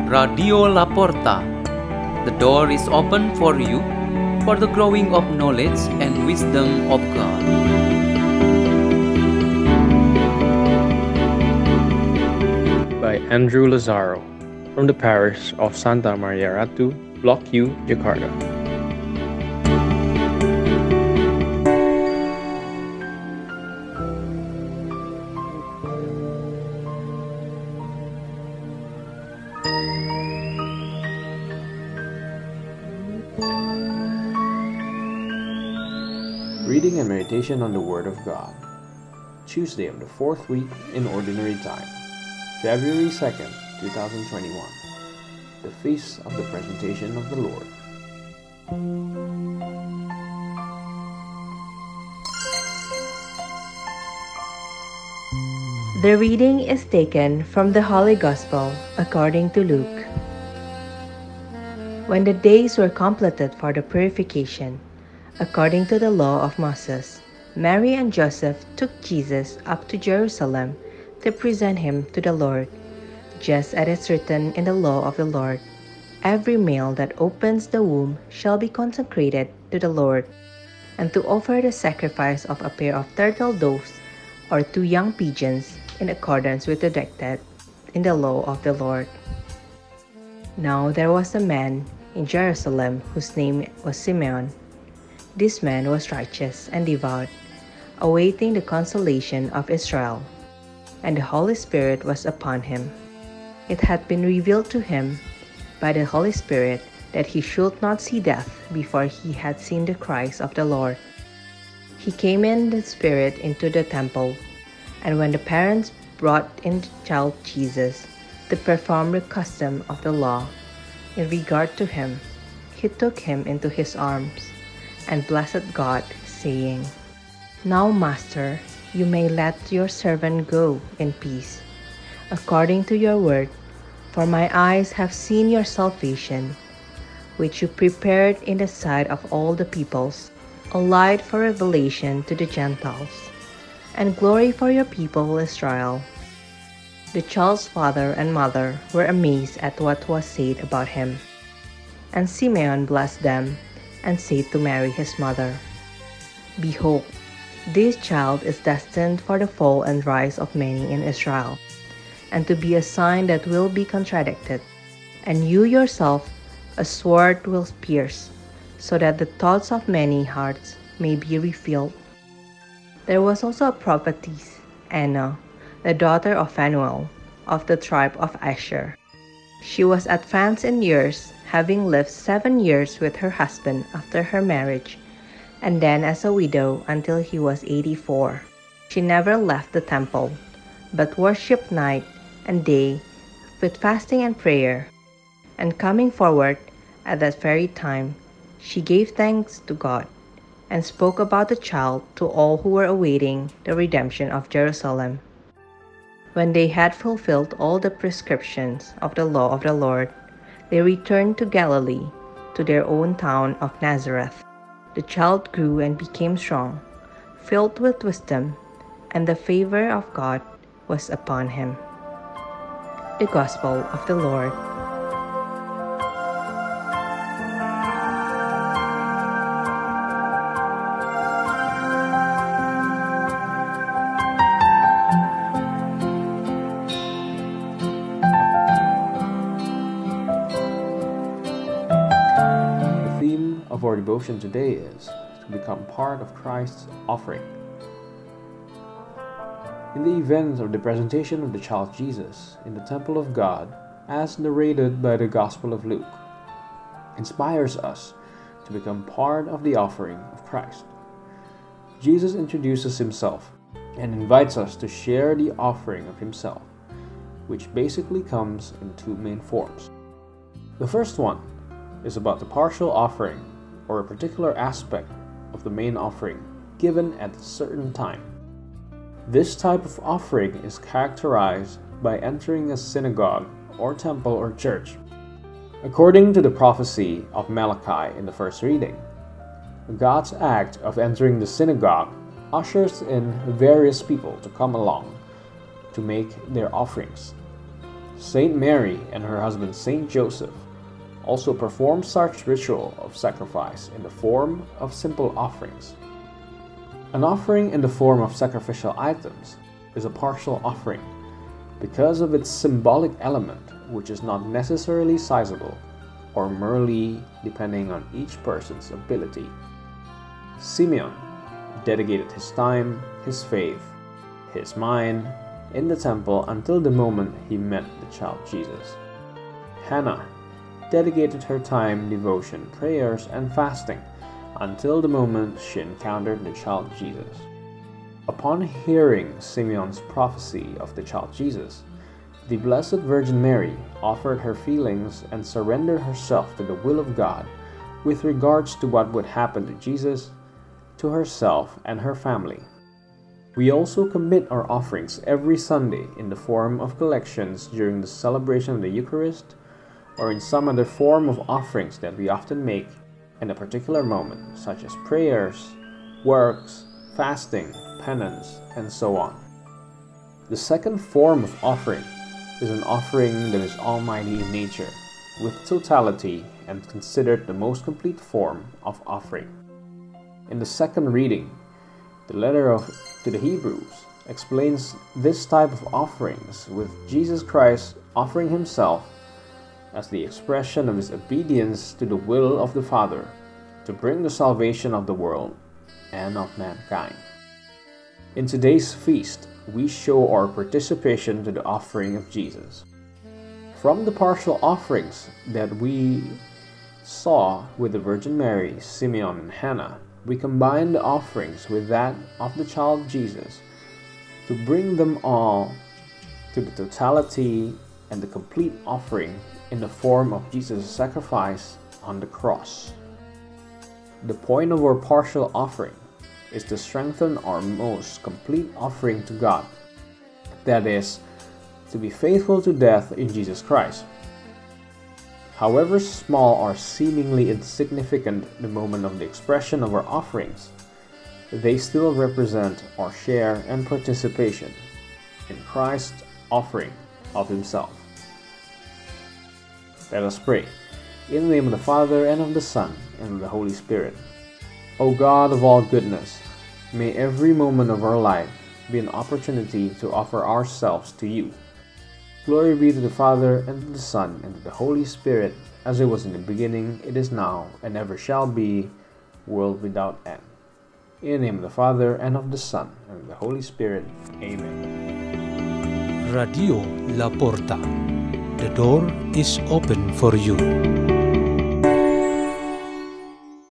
Radio La Porta. The door is open for you for the growing of knowledge and wisdom of God. By Andrew Lazaro from the parish of Santa Maria Ratu, Block U, Jakarta. Reading and meditation on the Word of God. Tuesday of the fourth week in Ordinary Time, February 2nd, 2021. The Feast of the Presentation of the Lord. The reading is taken from the Holy Gospel according to Luke. When the days were completed for the purification, according to the law of Moses, Mary and Joseph took Jesus up to Jerusalem to present him to the Lord, just as it is written in the law of the Lord. Every male that opens the womb shall be consecrated to the Lord, and to offer the sacrifice of a pair of turtle doves or 2 young pigeons in accordance with the directed in the law of the Lord. Now there was a man in Jerusalem whose name was Simeon. This man was righteous and devout, awaiting the consolation of Israel, and the Holy Spirit was upon him. It had been revealed to him by the Holy Spirit that he should not see death before he had seen the Christ of the Lord. He came in the Spirit into the temple, and when the parents brought in the child Jesus to perform the custom of the law in regard to him, he took him into his arms and blessed God, saying, "Now, Master, you may let your servant go in peace, according to your word, for my eyes have seen your salvation, which you prepared in the sight of all the peoples, a light for revelation to the Gentiles, and glory for your people Israel." The child's father and mother were amazed at what was said about him. And Simeon blessed them, and said to Mary his mother, "Behold, this child is destined for the fall and rise of many in Israel, and to be a sign that will be contradicted, and you yourself a sword will pierce, so that the thoughts of many hearts may be revealed." There was also a prophetess, Anna, the daughter of Phanuel, of the tribe of Asher. She was advanced in years, having lived 7 years with her husband after her marriage, and then as a widow until he was 84. She never left the temple, but worshipped night and day with fasting and prayer. And coming forward at that very time, she gave thanks to God, and spoke about the child to all who were awaiting the redemption of Jerusalem. When they had fulfilled all the prescriptions of the law of the Lord, they returned to Galilee, to their own town of Nazareth. The child grew and became strong, filled with wisdom, and the favor of God was upon him. The Gospel of the Lord. The theme of our devotion today is to become part of Christ's offering. In the event of the presentation of the child Jesus in the temple of God, as narrated by the Gospel of Luke, inspires us to become part of the offering of Christ. Jesus introduces himself and invites us to share the offering of himself, which basically comes in 2 main forms. The first one is about the partial offering, or a particular aspect of the main offering given at a certain time. This type of offering is characterized by entering a synagogue or temple or church. According to the prophecy of Malachi in the first reading, God's act of entering the synagogue ushers in various people to come along to make their offerings. Saint Mary and her husband Saint Joseph also performed such ritual of sacrifice in the form of simple offerings. An offering in the form of sacrificial items is a partial offering because of its symbolic element, which is not necessarily sizable or merely depending on each person's ability. Simeon dedicated his time, his faith, his mind in the temple until the moment he met the child Jesus. Hannah dedicated her time, devotion, prayers, and fasting until the moment she encountered the child Jesus. Upon hearing Simeon's prophecy of the child Jesus, the Blessed Virgin Mary offered her feelings and surrendered herself to the will of God with regards to what would happen to Jesus, to herself, and her family. We also commit our offerings every Sunday in the form of collections during the celebration of the Eucharist or in some other form of offerings that we often make in a particular moment, such as prayers, works, fasting, penance, and so on. The second form of offering is an offering that is almighty in nature, with totality, and considered the most complete form of offering. In the second reading, the letter to the Hebrews explains this type of offerings with Jesus Christ offering himself as the expression of his obedience to the will of the Father to bring the salvation of the world and of mankind. In today's feast, we show our participation to the offering of Jesus. From the partial offerings that we saw with the Virgin Mary, Simeon, and Hannah, we combine the offerings with that of the child Jesus to bring them all to the totality and the complete offering in the form of Jesus' sacrifice on the cross. The point of our partial offering is to strengthen our most complete offering to God, that is, to be faithful to death in Jesus Christ. However small or seemingly insignificant the moment of the expression of our offerings, they still represent our share and participation in Christ's offering of himself. Let us pray. In the name of the Father, and of the Son, and of the Holy Spirit. O God of all goodness, may every moment of our life be an opportunity to offer ourselves to you. Glory be to the Father, and to the Son, and to the Holy Spirit, as it was in the beginning, it is now, and ever shall be, world without end. In the name of the Father, and of the Son, and of the Holy Spirit. Amen. Radio La Porta. The door is open for you.